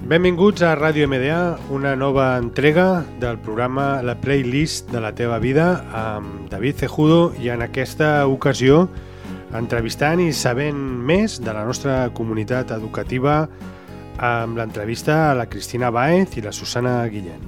Benvinguts a Ràdio MDA, una nova entrega del programa La Playlist de la teva vida amb David Cejudo i en aquesta ocasió entrevistant i sabent més de la nostra comunitat educativa amb l'entrevista a la Cristina Báez i la Susana Guillén.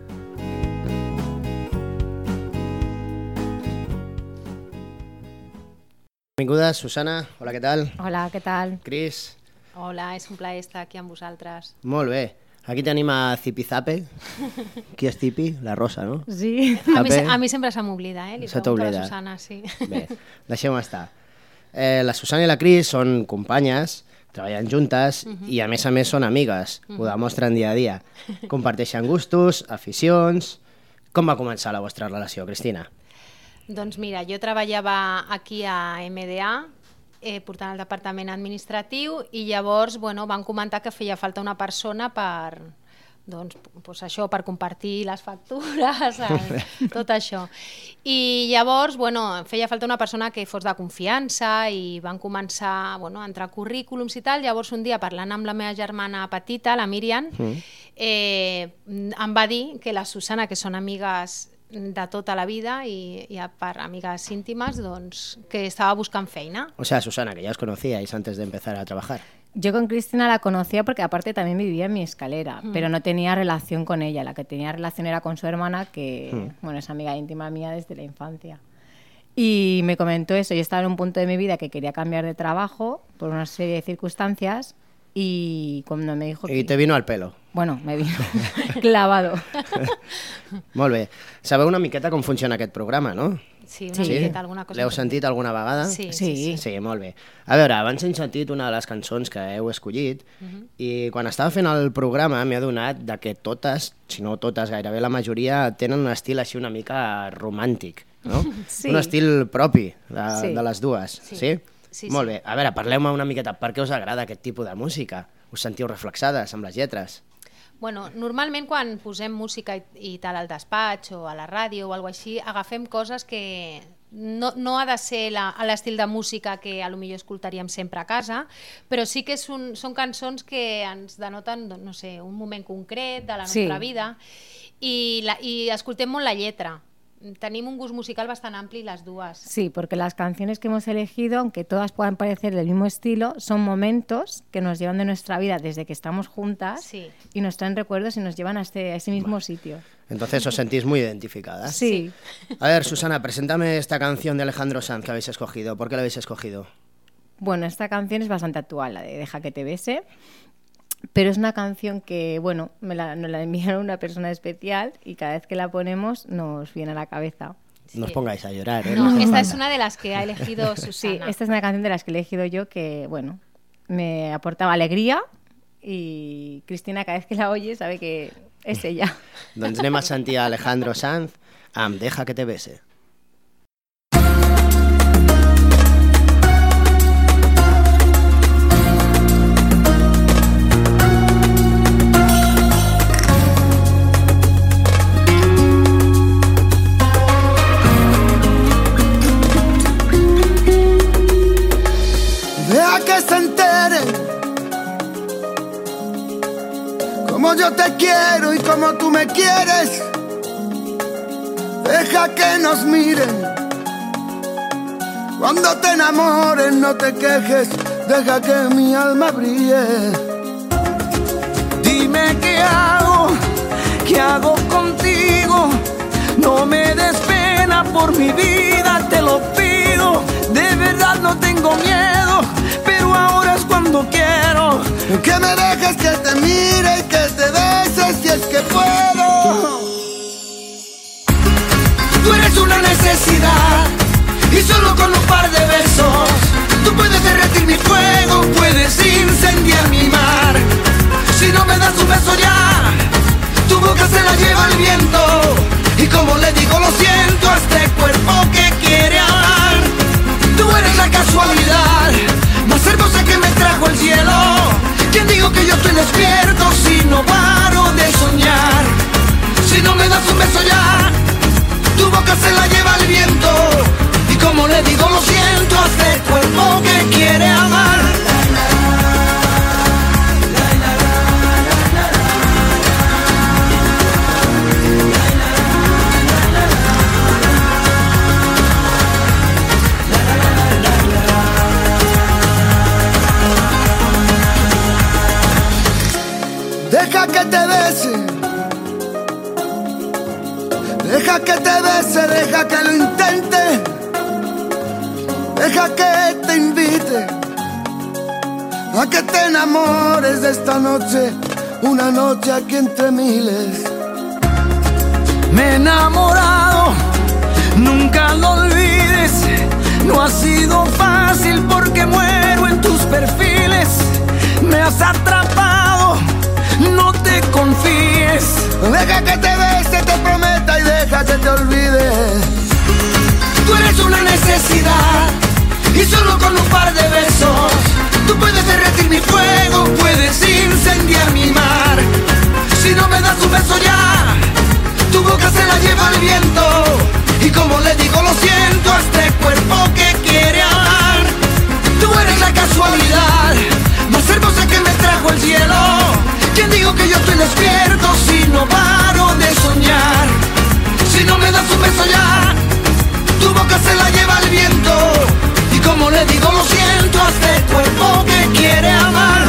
Benvinguda, Susana. Hola, què tal? Hola, què tal? Cris. Hola, és un plaer estar aquí amb vosaltres. Molt bé. Aquí tenim a Zipizape. Qui és Zipi? La Rosa, no? Sí. A mi sempre se m'oblida, Li pregunto a la Susana, sí. Bé, deixem-ho estar. La Susana i la Cris són companyes, treballen juntes i a més són amigues. Ho demostren dia a dia. Comparteixen gustos, aficions... Com va començar la vostra relació, Cristina? Doncs mira, jo treballava aquí a MDA, portant el departament administratiu, i llavors van comentar que feia falta una persona per per compartir les factures, tot això. I llavors feia falta una persona que fos de confiança i van començar a entrar currículums i tal. Llavors un dia, parlant amb la meva germana petita, la Míriam, em va dir que la Susana, que són amigues de tota la vida y per amigues íntimas, que estaba buscando feina. O sea, Susana, que ya os conocíais antes de empezar a trabajar. Yo con Cristina la conocía porque aparte también vivía en mi escalera, pero no tenía relación con ella. La que tenía relación era con su hermana, que es amiga íntima mía desde la infancia. Y me comentó eso. Yo estaba en un punto de mi vida que quería cambiar de trabajo por una serie de circunstancias. Y cuando me dijo I te vino al pelo. Bueno, me vino clavado. Molt bé. Sabeu una miqueta com funciona aquest programa, no? Sí, una miqueta, alguna cosa. L'heu sentit alguna vegada? Sí. Sí, molt bé. A veure, abans hem sentit una de les cançons que heu escollit i quan estava fent el programa m'he adonat que totes, si no totes, gairebé la majoria, tenen un estil així una mica romàntic, no? Sí. Un estil propi de les dues, sí? Sí. Molt bé. A veure, parleu-me una miqueta. Per què us agrada aquest tipus de música? Us sentiu reflexades amb les lletres? Normalment quan posem música i tal al despatx o a la ràdio o alguna cosa així, agafem coses que no ha de ser a l'estil de música que potser escoltaríem sempre a casa, però sí que són cançons que ens denoten, no sé, un moment concret de la nostra vida i escoltem molt la lletra. Tenim un gust musical bastante amplio las duas. Sí, porque las canciones que hemos elegido, aunque todas puedan parecer del mismo estilo, son momentos que nos llevan de nuestra vida desde que estamos juntas y nos traen recuerdos y nos llevan a ese mismo sitio. Entonces os sentís muy identificadas. Sí. A ver, Susana, preséntame esta canción de Alejandro Sanz que habéis escogido. ¿Por qué la habéis escogido? Bueno, esta canción es bastante actual, la de Deja que te bese. Pero es una canción que, nos la enviaron una persona especial y cada vez que la ponemos nos viene a la cabeza. No os pongáis a llorar, ¿eh? No, esta es una de las que ha elegido Susana. Sí, esta es una canción de las que he elegido yo que, me aportaba alegría y Cristina cada vez que la oye sabe que es ella. Doncs anem a sentir a Alejandro Sanz amb Deja que te bese. Que se enteren como yo te quiero y como tú me quieres. Deja que nos miren cuando te enamores, no te quejes. Deja que mi alma brille. Dime qué hago contigo. No me des pena por mi vida, te lo pido. De verdad no tengo miedo, pero ahora es cuando quiero que me dejes que te mire y que te bese si es que puedo. Tú eres una necesidad y solo con un par de besos tú puedes derretir mi fuego, puedes incendiar mi mar. Si no me das un beso ya, tu boca se la lleva el viento. Y como le digo lo siento a este cuerpo que quiere hablar. Tú eres la casualidad más hermosa que me trajo el cielo. ¿Quién dijo que yo estoy despierto si no paro de soñar? Si no me das un beso ya, tu boca se la lleva el viento. Y como le digo lo siento a este cuerpo que quiere amar. que te bese, deja que lo intente, deja que te invite a que te enamores de esta noche, una noche aquí entre miles. Me he enamorado, nunca lo olvides, no ha sido fácil porque muero en tus perfiles. Me has atrapado, no te confíes, deja que te bese, te prometa y deja que te olvide. Tú eres una necesidad y solo con un par de besos tú puedes derretir mi fuego, puedes incendiar mi mar. Si no me das un beso ya, tu boca se la lleva el viento. Y como le digo lo siento a este cuerpo que quiere amar. Tú eres la casualidad más hermosa que me trajo el cielo. ¿Quién dijo que yo estoy despierto si no paro de soñar? Si no me das un beso ya, tu boca se la lleva el viento. Y como le digo lo siento a este cuerpo que quiere amar.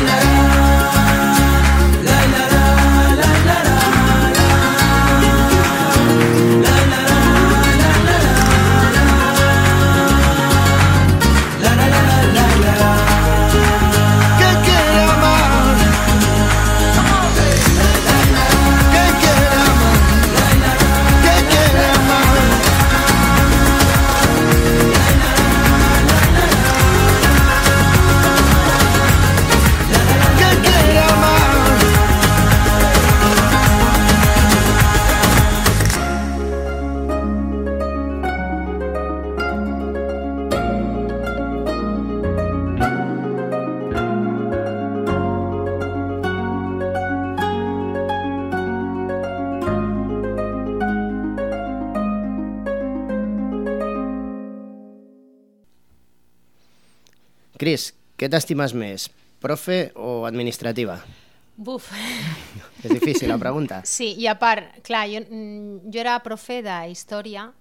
Cris, què t'estimes més, profe o administrativa? Buf. És difícil la pregunta. Sí, i a part, clar, jo era profe d'història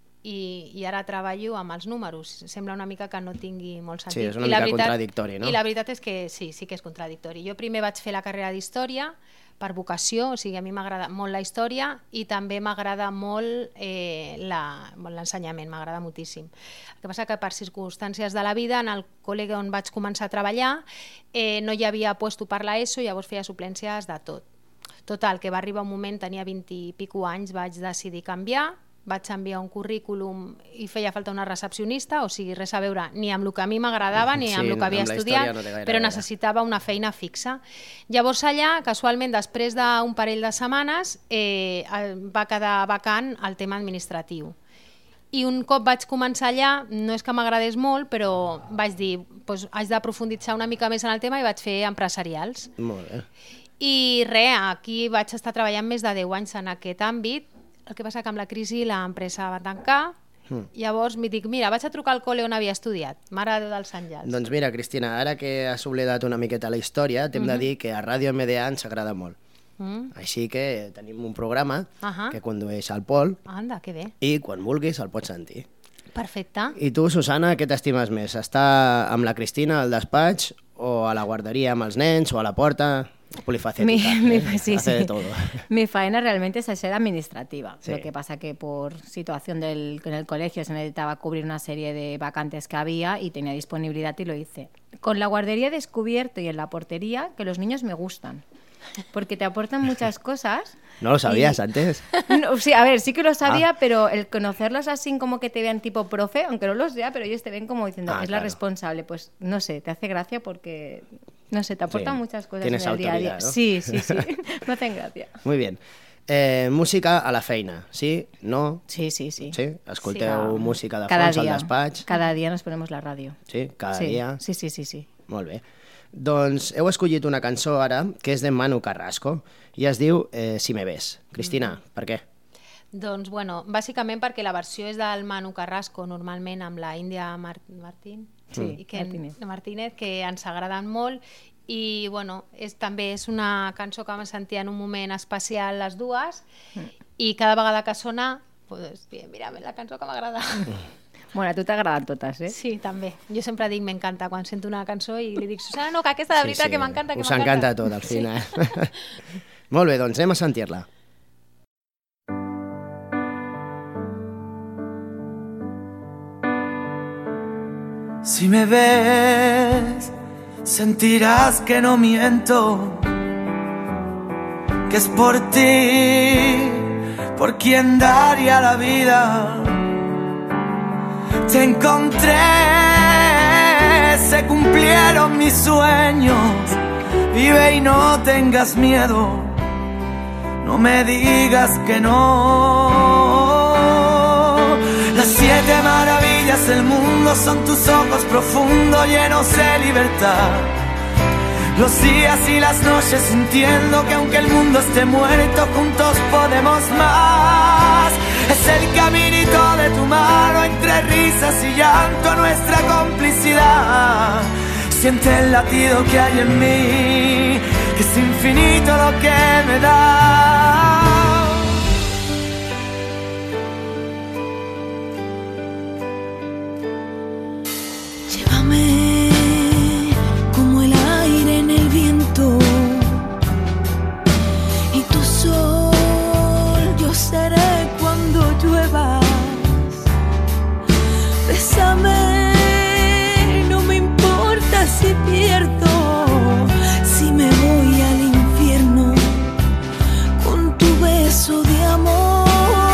i ara treballo amb els números. Sembla una mica que no tingui molt sentit. Sí, és una mica contradictori, no? I la veritat és que sí que és contradictori. Jo primer vaig fer la carrera d'història per vocació, o sigui, a mi m'agrada molt la història i també m'agrada molt l'ensenyament, m'agrada moltíssim. El que passa que per circumstàncies de la vida, en el col·le on vaig començar a treballar, no hi havia puesto per l'ESO, llavors feia suplències de tot. Total, que va arribar un moment, tenia 20 i pico anys, vaig decidir canviar, vaig enviar un currículum i feia falta una recepcionista, o sigui, res a veure ni amb el que a mi m'agradava ni amb el que havia estudiat, però necessitava una feina fixa. Llavors allà, casualment, després d'un parell de setmanes, va quedar vacant el tema administratiu. I un cop vaig començar allà, no és que m'agradés molt, però vaig dir, doncs, haig d'aprofunditzar una mica més en el tema i vaig fer empresarials. Molt bé. I res, aquí vaig estar treballant més de 10 anys en aquest àmbit. El que passa que amb la crisi l'empresa va tancar, llavors m'hi dic, mira, vaig a trucar al col·le on havia estudiat, Mare de Déu dels Àngels. Doncs mira, Cristina, ara que has oblidat una miqueta la història, t'hem de dir que a Ràdio MDA ens agrada molt. Així que tenim un programa que condueix al Pol. Anda, que bé. I quan vulguis el pots sentir. Perfecte. I tu, Susana, què t'estimes més? Estar amb la Cristina al despatx o a la guarderia amb els nens o a la porta? Polifacética, sí, hace de todo. Mi faena realmente es ser administrativa. Sí. Lo que pasa que por situación en el colegio se necesitaba cubrir una serie de vacantes que había y tenía disponibilidad y lo hice. Con la guardería he descubierto y en la portería que los niños me gustan. Porque te aportan muchas cosas. ¿No lo sabías antes? No, sí, a ver, sí que lo sabía, pero el conocerlos así como que te vean tipo profe, aunque no lo sea, pero ellos te ven como diciendo, es la responsable. Pues no sé, te hace gracia porque, no sé, te aportan muchas cosas en el día a día. ¿No? Sí, me hacen gracia. Muy bien. Música a la feina, sí? No? Sí. Sí? Escolteu música de fons al despatx? Cada dia nos ponemos la ràdio. Sí? Cada dia? Sí. Molt bé. Doncs heu escollit una cançó ara que és de Manu Carrasco i es diu Si me ves. Cristina, per què? Doncs, bueno, bàsicament perquè la versió és del Manu Carrasco, normalment amb la Índia Martínez, que ens agraden molt i, bueno, també és una cançó que vam sentir en un moment especial les dues i cada vegada que sona, pues, mira, la cançó que m'agrada. Bueno, a tu t'agraden totes, eh? Sí, també. Jo sempre dic m'encanta quan sento una cançó i li dic, Susana, no, que aquesta de veritat que m'encanta, que m'encanta. Us encanta tot, al final. Molt bé, doncs anem a sentir-la. Si me ves, sentirás que no miento, que es por ti, por quien daría la vida. Te encontré, se cumplieron mis sueños. Vive y no tengas miedo, no me digas que no. Las 7 maravillas del mundo son tus ojos profundos llenos de libertad. Los días y las noches sintiendo que aunque el mundo esté muerto, juntos podemos más. Es el caminito de tu mano entre risas y llanto, nuestra complicidad. Siente el latido que hay en mí, que es infinito lo que me da. Llévame como el aire en el viento, y tu sol yo seré cuando lluevas. Bésame, no me importa si pierdo, si me voy al infierno con tu beso de amor.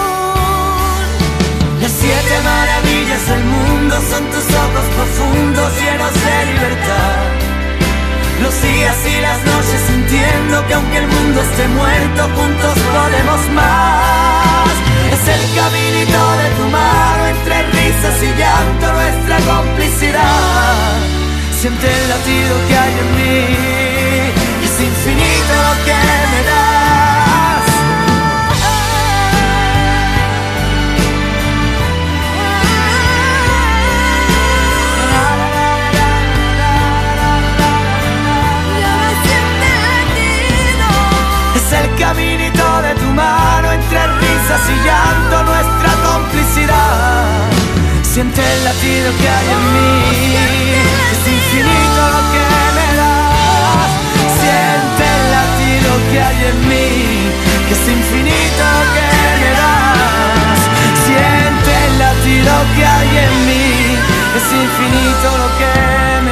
Las 7 maravillas del mundo son tus ojos profundos llenos de libertad. Los días y las noches sintiendo que aunque el mundo esté muerto, juntos podemos más. Es el caminito de tu mano entre risas y llanto, nuestra complicidad. Siente el latido que hay en mí, es infinito lo que me das. Es el caminito de tu mano entre risas y llanto, nuestra complicidad. Siente el latido que hay en mí, es infinito lo que me das. Siente el latido que hay en mí, que es infinito lo que me das. Siente el latido que hay en mí, es infinito lo que me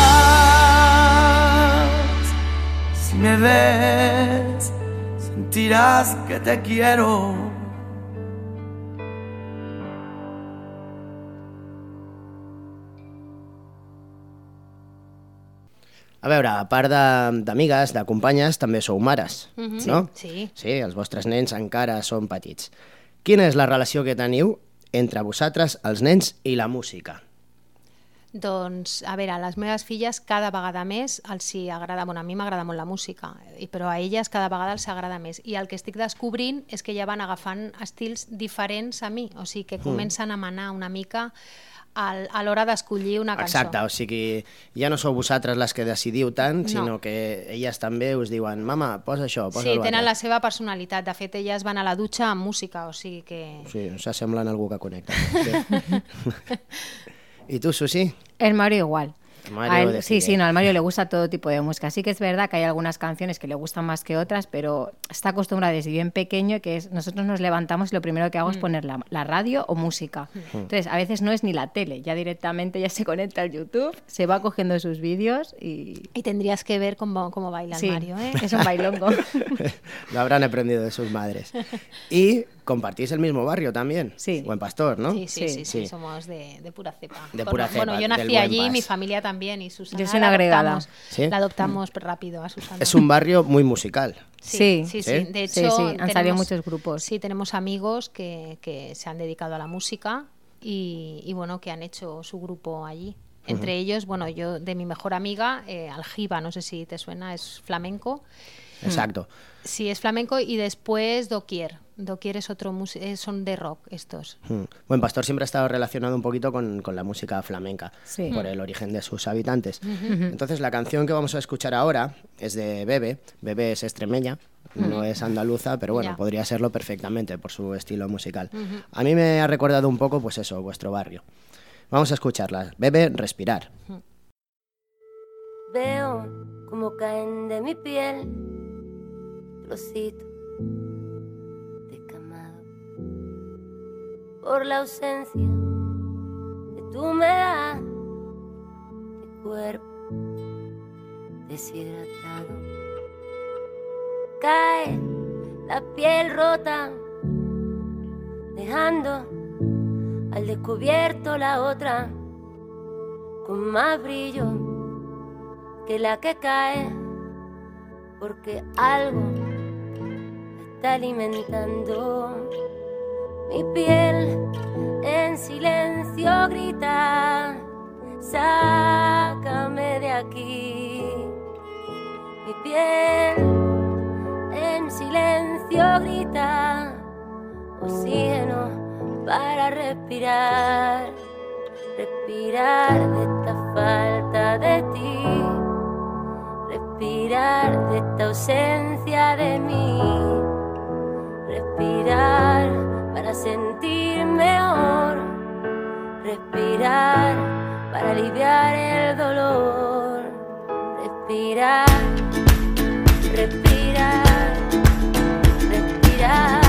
das. Si me ves, sentirás que te quiero. A veure, a part d'amigues, de companyes, també sou mares, no? Sí. Sí, els vostres nens encara són petits. Quina és la relació que teniu entre vosaltres, els nens, i la música? Doncs, a veure, a les meves filles cada vegada més els hi agrada, bueno, a mi m'agrada molt la música, però a elles cada vegada els agrada més. I el que estic descobrint és que ja van agafant estils diferents a mi, o sigui que comencen a manar una mica a l'hora d'escollir una cançó. Exacte, o sigui, ja no sou vosaltres les que decidiu tant, sinó que elles també us diuen mama, posa això, posa l'altre. Sí, tenen la seva personalitat. De fet, elles van a la dutxa amb música, o sigui que... Sí, s'assemblen a algú que connecta. Sí. ¿Y tú, Susi? El Mario igual. Mario sí, no, al Mario le gusta todo tipo de música. Sí que es verdad que hay algunas canciones que le gustan más que otras, pero está acostumbrado desde bien pequeño que nosotros nos levantamos y lo primero que hago es poner la radio o música. Entonces, a veces no es ni la tele, ya directamente ya se conecta al YouTube, se va cogiendo sus vídeos y... Y tendrías que ver cómo baila el Mario, ¿eh? Es un bailongo. Lo habrán aprendido de sus madres. Y compartís el mismo barrio también. Sí. Buen Pastor, ¿no? Sí, somos de pura cepa. De pura cepa. Bueno, yo nací allí, mi familia también, y Susana. Yo soy una agregada. ¿Sí? La adoptamos rápido a Susana. Es un barrio muy musical. Sí. ¿Sí? De hecho, han salido muchos grupos. Sí, tenemos amigos que se han dedicado a la música y bueno, que han hecho su grupo allí. Entre ellos, bueno, yo de mi mejor amiga, Aljiba, no sé si te suena, es flamenco. Exacto. Sí, es flamenco, y después Doquier. Doquier es otro son de rock estos. Buen Pastor siempre ha estado relacionado un poquito con la música flamenca, por el origen de sus habitantes. Entonces la canción que vamos a escuchar ahora es de Bebe. Bebe es extremeña, no es andaluza, pero bueno, podría serlo perfectamente por su estilo musical. A mí me ha recordado un poco, pues eso, vuestro barrio. Vamos a escucharla. Bebe, Respirar. Veo como caen de mi piel trocitos descamados por la ausencia de tu humedad cuerpo deshidratado. Cae la piel rota, dejando al descubierto la otra, con más brillo que la que cae, porque algo está alimentando. Mi piel en silencio grita, sácame de aquí. Mi piel en silencio grita, oxígeno para respirar, respirar de esta falta de ti, respirar de esta ausencia de mí, respirar para sentir mejor, respirar para aliviar el dolor, respirar, respirar, respirar.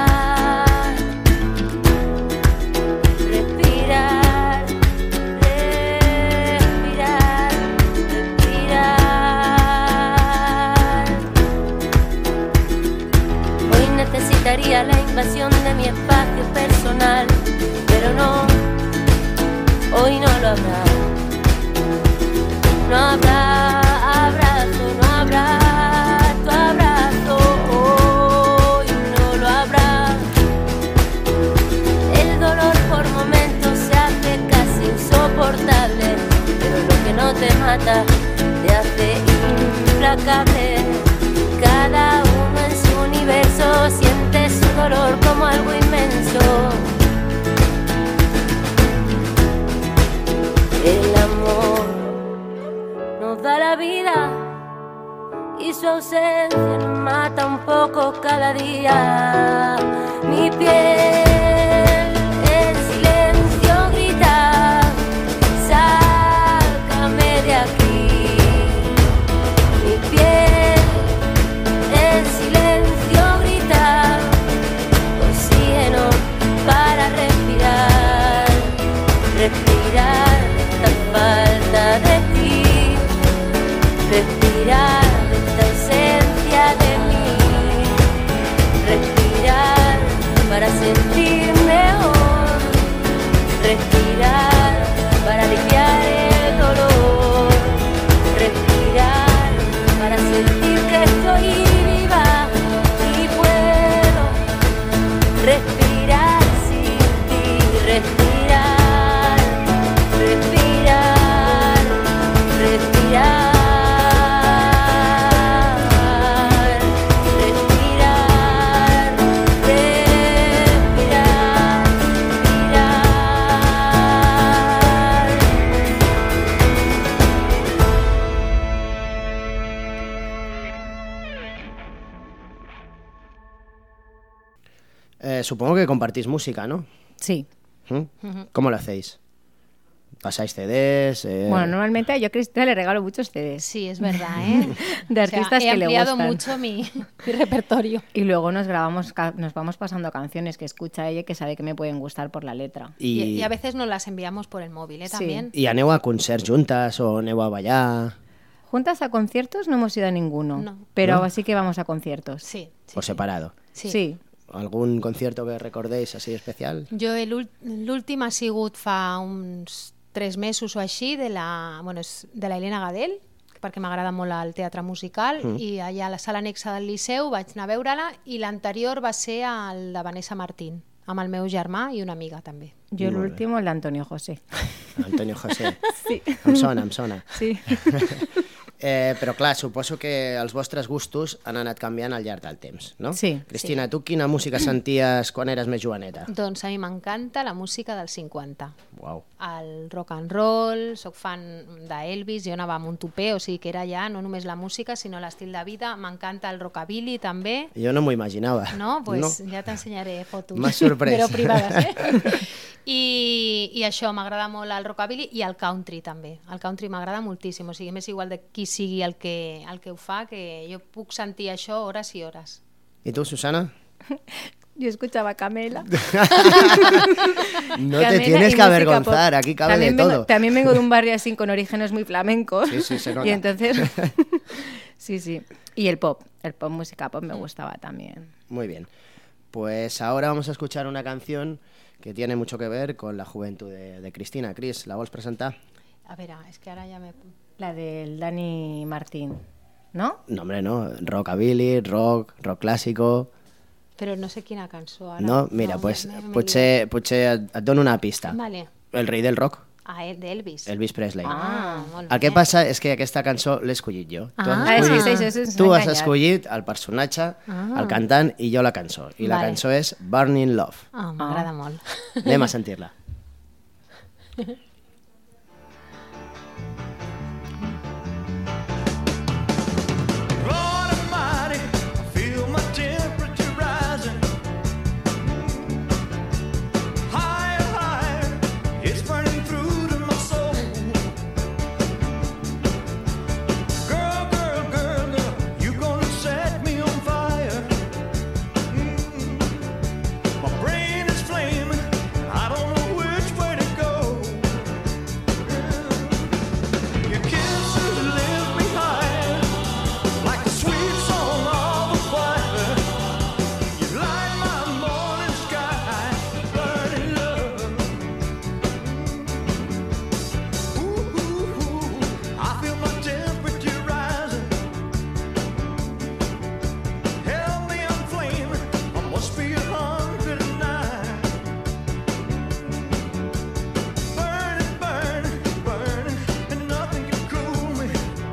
Necesitaría la invasión de mi espacio personal, pero no, hoy no lo habrá. No habrá abrazo, no habrá tu abrazo, hoy no lo habrá. El dolor por momentos se hace casi insoportable, pero lo que no te mata te hace implacable. Cada uno en su universo siente su dolor como algo inmenso. El amor nos da la vida y su ausencia nos mata un poco cada día. Mi piel en silencio grita, sácame de aquí. Mi piel en silencio grita, oxígeno para respirar, respirar esta falta de ti, respirar esta ausencia de mí, respirar para sentir mejor, respirar para aliviar el dolor, respirar para sentir que estoy viva y puedo respirar sin ti, respirar, respirar, respirar. Supongo que compartís música, ¿no? Sí. ¿Cómo lo hacéis? ¿Pasáis CDs? Bueno, normalmente yo a Cristina le regalo muchos CDs. Sí, es verdad, ¿eh? De artistas he que le ampliado gustan. mucho mi repertorio. Y luego nos vamos pasando canciones que escucha ella y que sabe que me pueden gustar por la letra. Y a veces nos las enviamos por el móvil, ¿eh? Sí. También. ¿Y aneu a concerts juntes o aneu a ballar? Juntas a conciertos no hemos ido a ninguno, No. pero ¿No? sí que vamos a conciertos. Sí, sí, ¿O separado? sí. ¿Algún concierto que recordéis así especial? Jo l'últim ha sigut fa uns 3 mesos o així de la Helena Gadel, perquè m'agrada molt el teatre musical, i allà a la sala anexa del Liceu vaig anar a veure-la, i l'anterior va ser el de Vanessa Martín, amb el meu germà i una amiga també. Yo el último, el de Antonio José. Antonio José. Sí. Em sona, em sona. Sí. Però clar, suposo que els vostres gustos han anat canviant al llarg del temps, no? Sí. Cristina, tu quina música senties quan eres més joveneta? Doncs a mi m'encanta la música dels 50. Uau. El rock and roll, soc fan d'Elvis, jo anava amb un tupé, o sigui que era ja no només la música, sinó l'estil de vida. M'encanta el rockabilly també. Jo no m'ho imaginava. No? Pues ja t'ensenyaré fotos. M'has sorprès. Però privades, eh? I això, m'agrada molt el rockabilly i el country també. El country m'agrada moltíssim, o sigui, m'és igual de qui sigui el que ho fa, que jo puc sentir això hores i hores. I tu, Susana? Yo escuchaba Camela. No Camela te y tienes que música avergonzar, pop. aquí cabe También de vengo, todo. también vengo de un barrio así con orígenes muy flamencos. Sí, se nota. Y entonces... sí. Y el pop, música pop me gustaba también. Muy bien. Pues ahora vamos a escuchar una canción que tiene mucho que ver con la juventud de Cristina. Cris, ¿la vols presentar? A ver, es que ahora ya me... La del Dani Martín, ¿no? No, hombre, no. Rockabilly, rock clásico... Però no sé quina cançó ara. No? Mira, No, pues, m'he potser et dono una pista. Vale. El rei del rock, d'Elvis. Elvis Presley. Molt El que bé. passa és que aquesta cançó l'he escollit jo. Tu has Ah, escollit, sí, això ens tu ha has enganyat. escollit el personatge, el cantant i jo la cançó. I la Vale. cançó és Burning Love. M'agrada molt. Anem a sentir-la. Lord Almighty, I feel my temperature rising. Higher, higher, it's burning through to my soul. Girl, girl, girl, girl, you gonna set me on fire. My brain is flaming, I don't know which way to go. Your kisses lift me higher, like a sweet song of a choir. You light my morning sky, burning love. Ooh, ooh, ooh, I feel my temperature rising. Help me, I'm flaming, I must be 109. Burning, burning, burning, and nothing can cool me.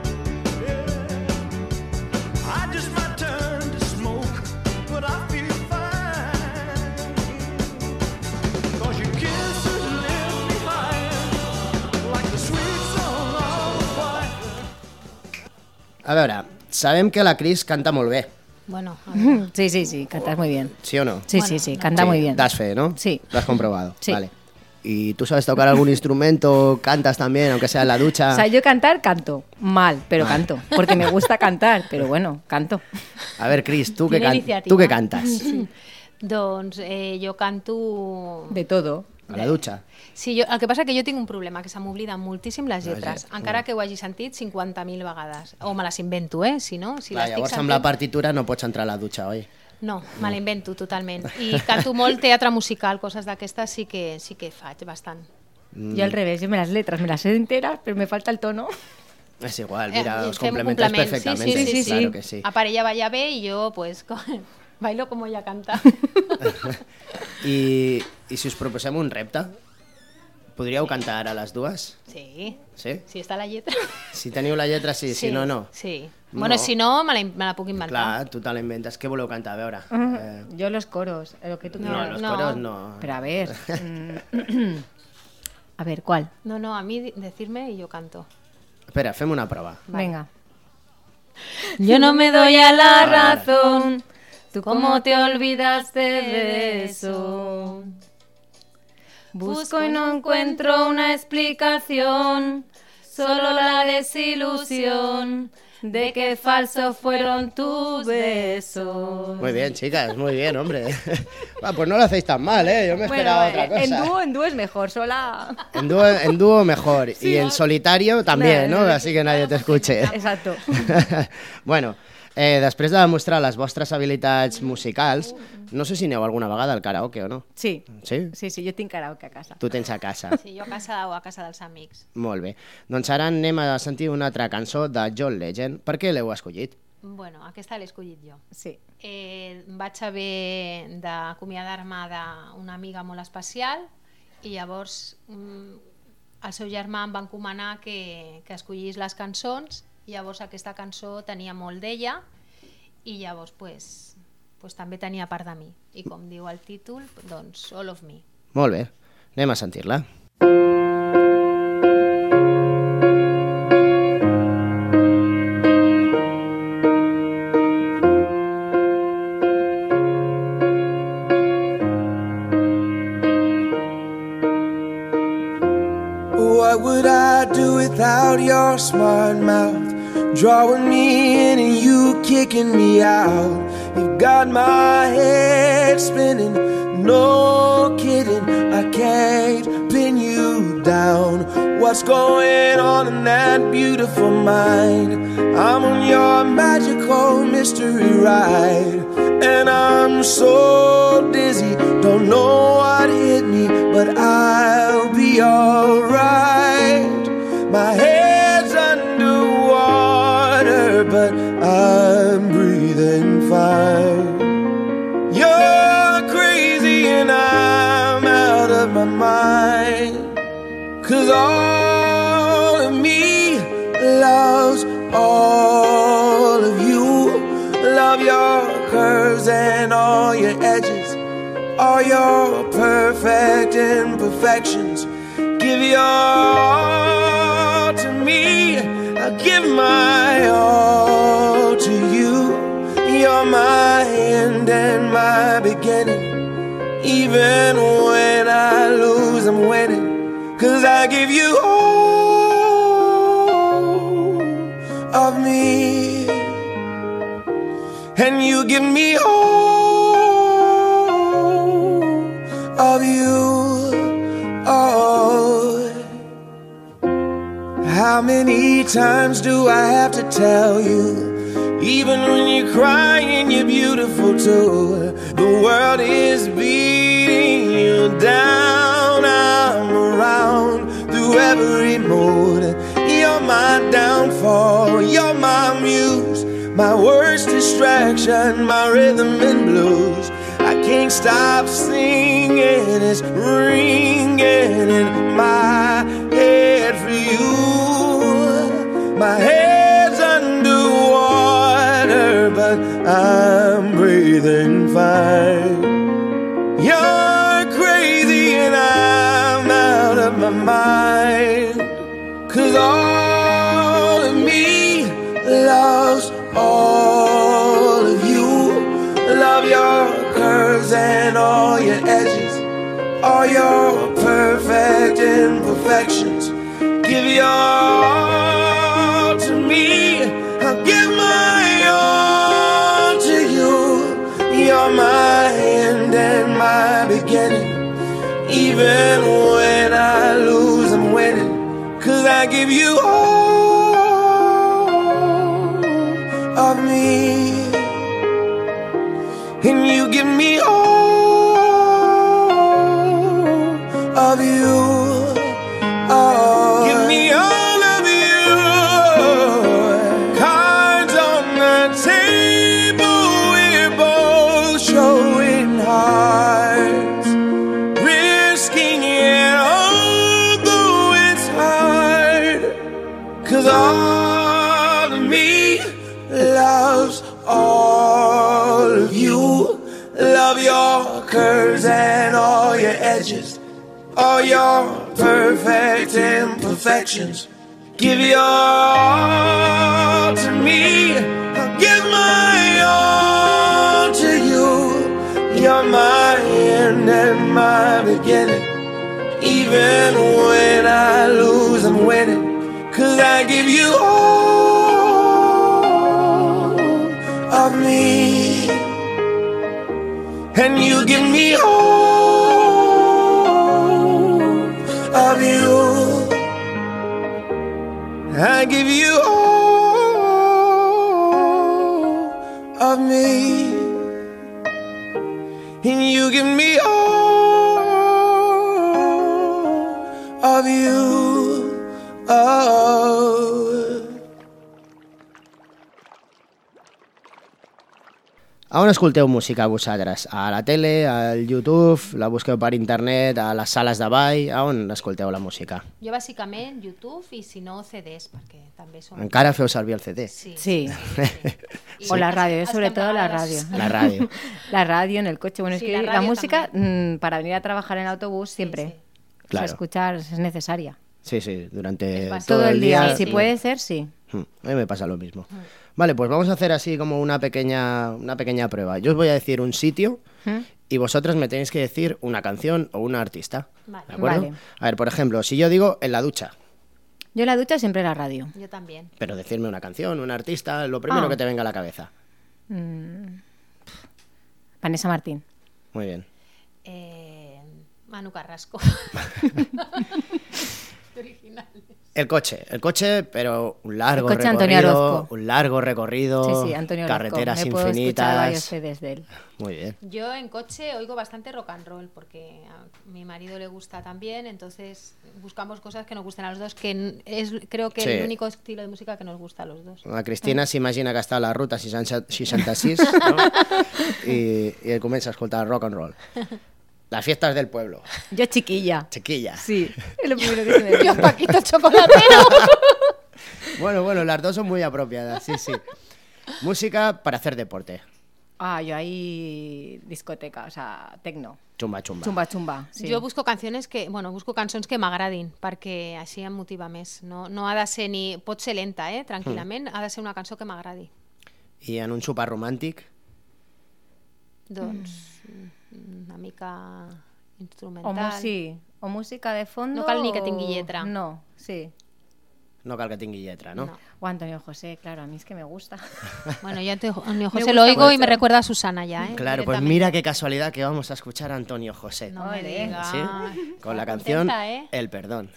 Yeah. I just might turn to smoke, but I feel fine. 'Cause your kisses lift me higher, like the sweet song of a choir. A veure, sabem que la Cris canta molt bé, Bueno, a ver. Sí, cantas muy bien. ¿sí o no? Sí, Bueno, sí, no. canta Sí, muy bien. Das fe, ¿no? Sí. Lo has comprobado. Sí. Vale. ¿Y tú sabes tocar algún instrumento? ¿Cantas también, aunque sea en la ducha? O sea, yo cantar, canto. Mal, pero canto. Porque me gusta cantar, pero bueno, canto. A ver, Cris, ¿tú qué, Tiene iniciativa. ¿tú qué cantas? Doncs jo canto... De todo. A la ducha. Sí, el que passa que jo tinc un problema, que se m'obliden moltíssim les lletres, lletres, encara que ho hagi sentit 50.000 vegades. O me les invento, si no? Si Clar, l'estic llavors amb sentint... la partitura no pots entrar a la ducha, oi? No, me la invento totalment. I canto molt teatre musical, coses d'aquestes sí que faig bastant. Yo al revés, yo me las sé enteras, pero me falta el tono. És igual, mira, os Fem un complementas complement. perfectamente. Sí. Claro que sí. A part, ella balla bé i jo, pues, bailo como ella canta. I si us proposem un repte, podríeu cantar a les dues? Sí, Sí? si està la lletra. Si teniu la lletra, sí, si no, no. Sí. No. Bueno, si no, me la puc inventar. Clar, tu te la inventes. Què voleu cantar? A veure. Yo los coros, lo que tú No, quieras. los no. coros no. Pero a ver. A ver, ¿cuál? No, a mí decirme y yo canto. Espera, fem una prova. Venga. Yo no me doy a la razón. ¿Tú cómo te olvidaste de eso? Busco y no encuentro una explicación, solo la desilusión de que falsos fueron tus besos. Muy bien, chicas, muy bien, hombre. Va, pues no lo hacéis tan mal, ¿eh? Yo me esperaba otra cosa. en dúo es mejor, sola. En dúo mejor. Y en solitario también, ¿no? Así que nadie te escuche. Exacto. Bueno, després de demostrar les vostres habilitats musicals, no sé si aneu alguna vegada al karaoke o no. Sí, Sí? sí, yo tengo karaoke a casa. Tu tens a casa. Sí, jo a casa o a casa dels amics. Molt bé. Doncs ara anem a sentir una altra cançó de John Legend. Per què l'heu escollit? Bueno, aquesta l'he escollit jo. Sí. Vaig haver d'acomiadar-me d'una amiga molt especial i llavors el seu germà em va encomanar que escollís les cançons i llavors aquesta cançó tenia molt d'ella i llavors pues, també tenia part de mi. I com diu el títol, doncs All of Me. Molt bé. Anem a sentir-la. What would I do without your smart mouth? Drawing me in and you kicking me out. You got my head spinning, no kidding, I can't pin you down. What's going on in that beautiful mind? I'm on your magical mystery ride, and I'm so dizzy, don't know what hit me, but I'll be alright. My head's underwater, but I'm breathing fine. You're crazy and I'm out of my mind, 'cause all of me loves all of you. Love your curves and all your edges, all your perfect imperfections. Give your all to me, I'll give my all to you. You're my end and my beginning. Even when I lose, I'm winning, 'cause I give you all of me, and you give me all of you. Oh, how many times do I have to tell you? Even when you're crying, you're beautiful too. The world is beating you down. I'm around through every mood. You're my downfall, you're my muse, my worst distraction, my rhythm and blues. I can't stop singing, it's ringing in my head for you. My head's underwater, but I'm breathing fine. You're crazy and I'm out of my mind, 'cause all of me loves all of you. Love your curves and all your edges, all your perfect imperfections. Give your all to me, I'll give my all to you. You're my end and my beginning. Even when I lose, I'm winning, 'cause I give you all of me, and you give me all of you. Oh, give me all of you. Cards on the table, we're both showing hearts, risking it although it's hard, 'cause all of me loves all of you. Love your curves and all your edges, all your perfect imperfections. Give your all to me, I'll give my all to you. You're my end and my beginning. Even when I lose, I'm winning, 'cause I give you all of me, and you give me all of you. I give you all of me, and you give me all of you. Oh. A on escolteu música vosaltres? A la tele, al YouTube, la busqueu per internet, a les sales de ball? A on escolteu la música? Jo bàsicament YouTube i si no CDs, perquè també són... Encara feu servir el CD? Sí. Sí. O la radio, sobre todo la radio. La radio. La radio en el coche. Bueno, es Sí, que la la radio música, para venir a trabajar en autobús, siempre sí. Claro. escuchar es necesaria. Sí, sí, durante Es básico. todo Todo el día, Sí, si sí. puede ser, sí. A mí me pasa lo mismo. Vale, pues vamos a hacer así como una pequeña prueba. Yo os voy a decir un sitio y vosotros me tenéis que decir una canción o un artista. Vale. ¿De acuerdo? Vale. A ver, por ejemplo, si yo digo en la ducha, Yo en la ducha siempre la radio. Yo también. pero decirme una canción, un artista, lo primero Ah. que te venga a la cabeza. Vanessa Martín. Muy bien. Manu Carrasco. El coche, pero un largo El coche, Antonio recorrido, Sí, Antonio Orozco. carreteras Me puedo escuchar varios infinitas. CDs de él. Muy bien. Yo en coche oigo bastante rock and roll porque a mi marido le gusta también, entonces buscamos cosas que nos gusten a los dos, que es creo que Sí. el único estilo de música que nos gusta a los dos. La Cristina s'imagina que està a la ruta 66 no? I comença a escoltar rock and roll. Las fiestas del pueblo. Yo chiquilla. Chiquilla. Sí, es lo primero que se me Yo viene. Paquito Chocolatero. Bueno, las dos son muy apropiadas, sí. Música para hacer deporte. Yo ahí discoteca, o sea, tecno. Chumba. Chumba, sí. Jo busco cançons que m'agradin, perquè així em motiva més. No ha de ser ni... Pot ser lenta, tranquil·lament, ha de ser una cançó que m'agradi. I en un sopar romàntic? Doncs una mica instrumental. O música de fondo. No cal ni que tingui lletra. No, sí. No cal que tingui lletra, ¿no? No. O Antonio José, claro, a mí es que me gusta. Bueno, yo Antonio José gusta lo oigo y mucho. me recuerda a Susana ya, Claro, pues directamente. mira qué casualidad que vamos a escuchar a Antonio José. No me Ole. digas. ¿Sí? Con la Está canción contenta, El Perdón.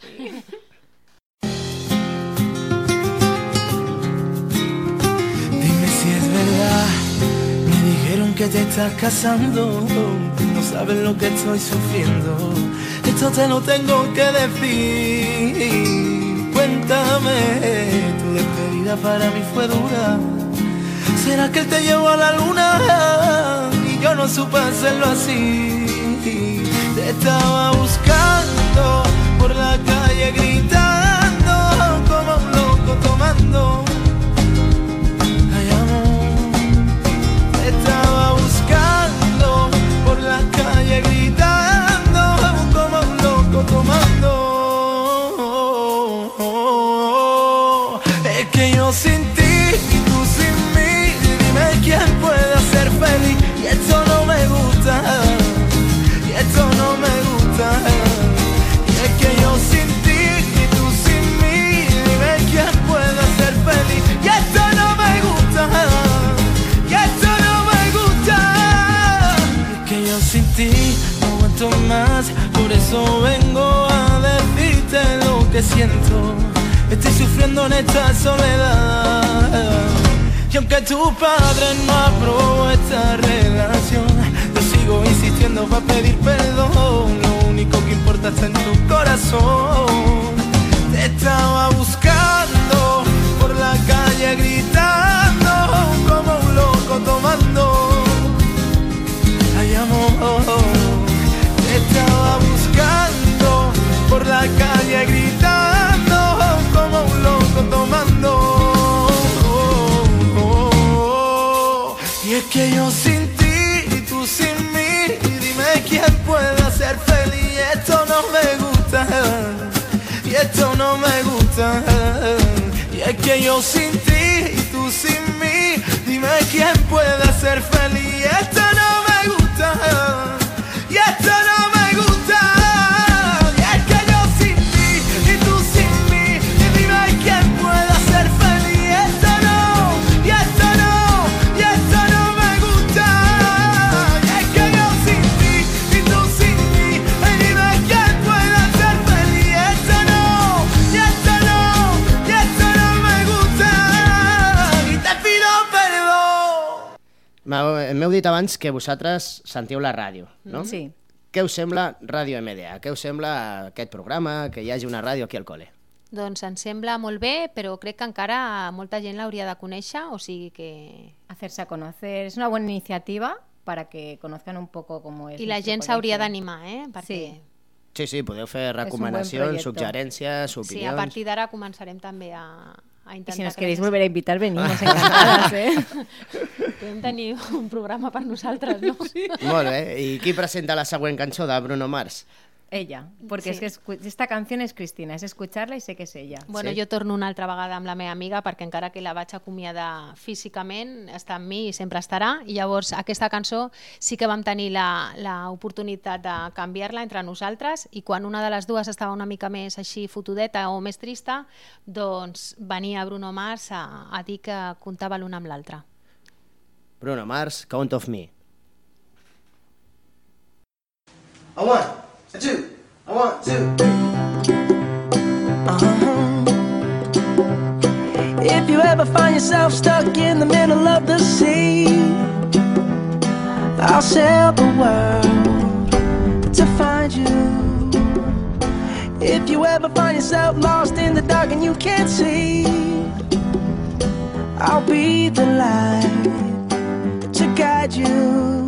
Dime si es verdad, me dijeron que te estás casando, no sabes lo que estoy sufriendo, esto te lo tengo que decir. Cuéntame, tu despedida para mí fue dura, ¿será que él te llevó a la luna y yo no supe hacerlo así? Te estaba buscando por la calle gritando como un loco tomando. Ay, amor, te estaba buscando por la calle gritando como un loco tomando. Es que yo sin ti y tú sin mí, dime quién puede ser feliz. Y esto no me gusta, y esto no me gusta. Y es que yo sin ti y tú sin mí, dime quién puede ser feliz. Y esto no me gusta, y esto no me gusta. Es que yo sin ti no aguanto más, por eso vengo a decirte lo que siento. Estoy sufriendo en esta soledad. Y aunque tu padre no aprobó esta relación, yo sigo insistiendo para pedir perdón. Lo único que importa está en tu corazón. Te estaba buscando por la calle gritando como un loco tomando. Ay, amor, te estaba buscando por la calle gritando como un loco tomando. Y es que yo sin ti y tú sin mí, dime quién puede ser feliz. Esto no me gusta, y esto no me gusta. Y es que yo sin ti y tú sin mí, dime quién puede ser feliz. Esto no me gusta, y esto no me gusta. Y es que yo sin ti y tú sin mí, dime quién puede ser feliz. Esto no, y esto no, y esto no me gusta. Y es que yo sin ti y tú sin mí, dime quién puede ser feliz. Esto no, y esto no, y esto no me gusta. Y te pido perdón. M'heu dit abans que vosaltres sentiu la ràdio, no? Sí. Què us sembla Ràdio MDA? Què us sembla aquest programa, que hi hagi una ràdio aquí al col·le? Doncs em sembla molt bé, però crec que encara molta gent l'hauria de conèixer, o sigui que... Hacerse a conocer. Es una buena iniciativa para que conozcan un poco cómo es. I la nuestro gent s'hauria colegio. d'animar, perquè... Sí. Sí, podeu fer un buen recomanacions, proyecto. suggerències, Sí, a opinions... partir d'ara començarem també a Y intentar... si nos que queréis la gent- volver a invitar, venimos encantadas, ¿eh? Podem tenir un programa per nosaltres, no? Sí. Molt bé. I qui presenta la següent cançó de Bruno Mars? Ella, porque Sí. es que esta canción es Cristina, es escucharla y sé que es ella. Bueno, Sí? jo torno una altra vegada amb la meva amiga perquè encara que la vaig acomiadar físicament, està amb mi i sempre estarà, i llavors aquesta cançó sí que vam tenir l'oportunitat de canviar-la entre nosaltres, i quan una de les dues estava una mica més així fotudeta o més trista, doncs venia Bruno Mars a dir que comptava l'una amb l'altra. Bruno Mars, Count of Me. A 1, a 2, a 1, 2, 3. If you ever find yourself stuck in the middle of the sea, I'll sail the world to find you. If you ever find yourself lost in the dark and you can't see, I'll be the light to guide you.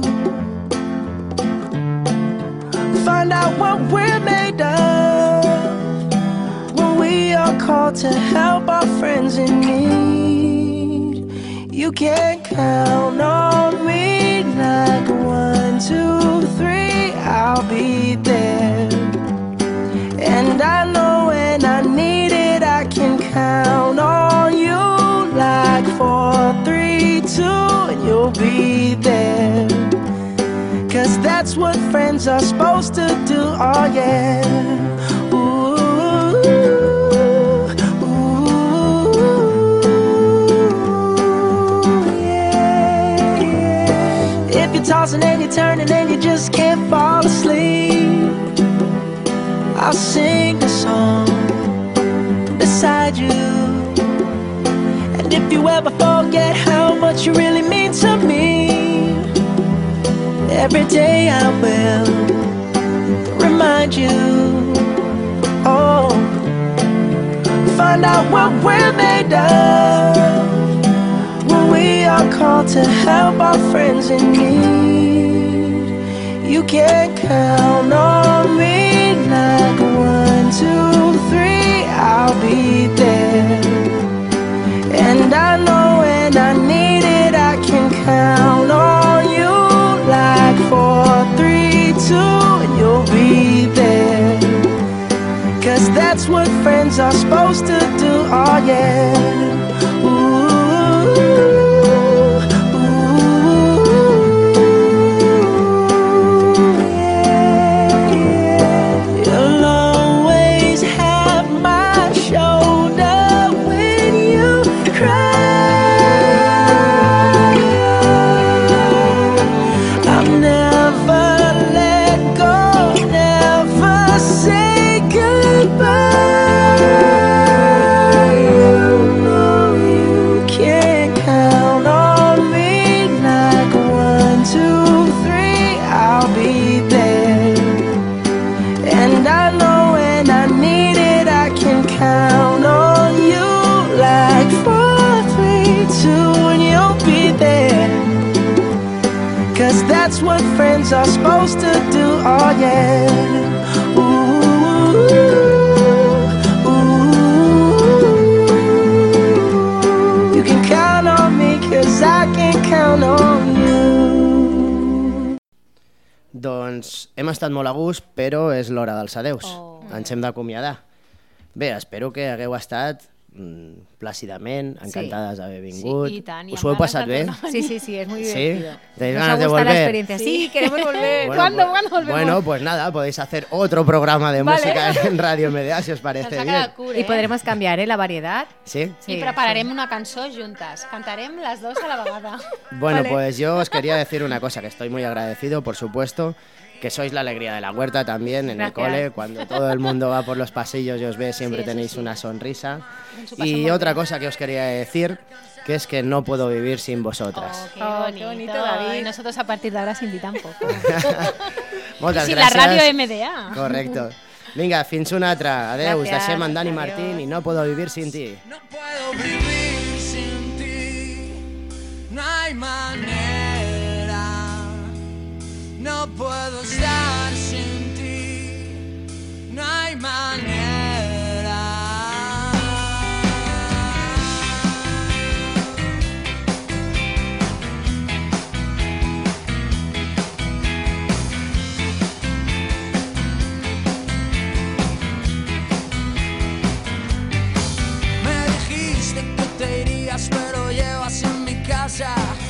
Find out what we're made of when we are called to help our friends in need. You can count on me like 1, 2, 3, I'll be there. And I know when I need it, I can count on you like 4, 3, 2, and you'll be there. 'Cause that's what friends are supposed to do, oh yeah. Ooh, ooh, yeah, yeah. If you're tossing and you're turning and you just can't fall asleep, I'll sing a song beside you. And if you ever forget how much you really mean to me, every day I will remind you. Oh, find out what we're made of when we are called to help our friends in need. You can count on me like 1, 2, 3, I'll be there. And I know when I need it, I can count on you like 4, 3, 2, and you'll be there. 'Cause that's what friends are supposed to do, oh yeah. Ooh, ooh, yeah, yeah. You'll always have my shoulder when you cry. I'll never let go, never say goodbye. You know you can count on me like 1, 2, 3, I'll be there. And I know when I need it, I can count on you like 4, 3, 2, and you'll be there. 'Cause that's what friends are supposed to do, oh yeah. Ooh, ooh, you can count on me 'cause I can count on you. Doncs hem estat molt a gust, però és l'hora dels adeus. Ens hem d'acomiadar. Bé, espero que hagueu estat plàcidament, encantades d'haver vingut. Sí, i tant, i Us amb ho heu ganes passat de bé? tornar a Sí, sí, sí, es muy ¿Sí? divertido. ¿Tenéis Nos ganas ha de gustado la volver? experiencia. Sí, queremos volver. Bueno, ¿Cuándo? pues- ¿Cuándo volvemos? Bueno, pues nada, podéis hacer otro programa de Vale. música en Radio MDA, si os Ens parece ha bien. quedat curt, Y podremos cambiar la variedad. ¿Sí? I prepararem una cançó juntes. Cantarem les dues a la vegada. Bueno, Vale. pues yo os quería decir una cosa, que estoy muy agradecido, por supuesto, que sois la alegría de la huerta también en el Gracias. cole. Cuando todo el mundo va por los pasillos y os ve, siempre Sí, eso tenéis sí. una sonrisa. Ens ho passem Y molt otra bé. cosa que os quería decir, que es que no puedo vivir sin vosotras. Qué Oh, bonito. qué bonito, David. Y nosotros a partir de ahora sin ti tampoco. Moltes Sí, la gràcies. ràdio MDA. Correcto. Vinga, fins una altra. Adeu, us Gràcies. deixem en Dani Adiós. Martín i No puedo vivir sin ti. No puedo vivir sin ti, no hay manera. No puedo estar sin ti, no hay manera. Me dijiste que te irías, pero llevas en mi casa